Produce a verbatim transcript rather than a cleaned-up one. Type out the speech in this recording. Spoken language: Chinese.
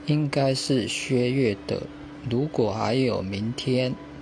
应该是薛岳的《如果还有明天》。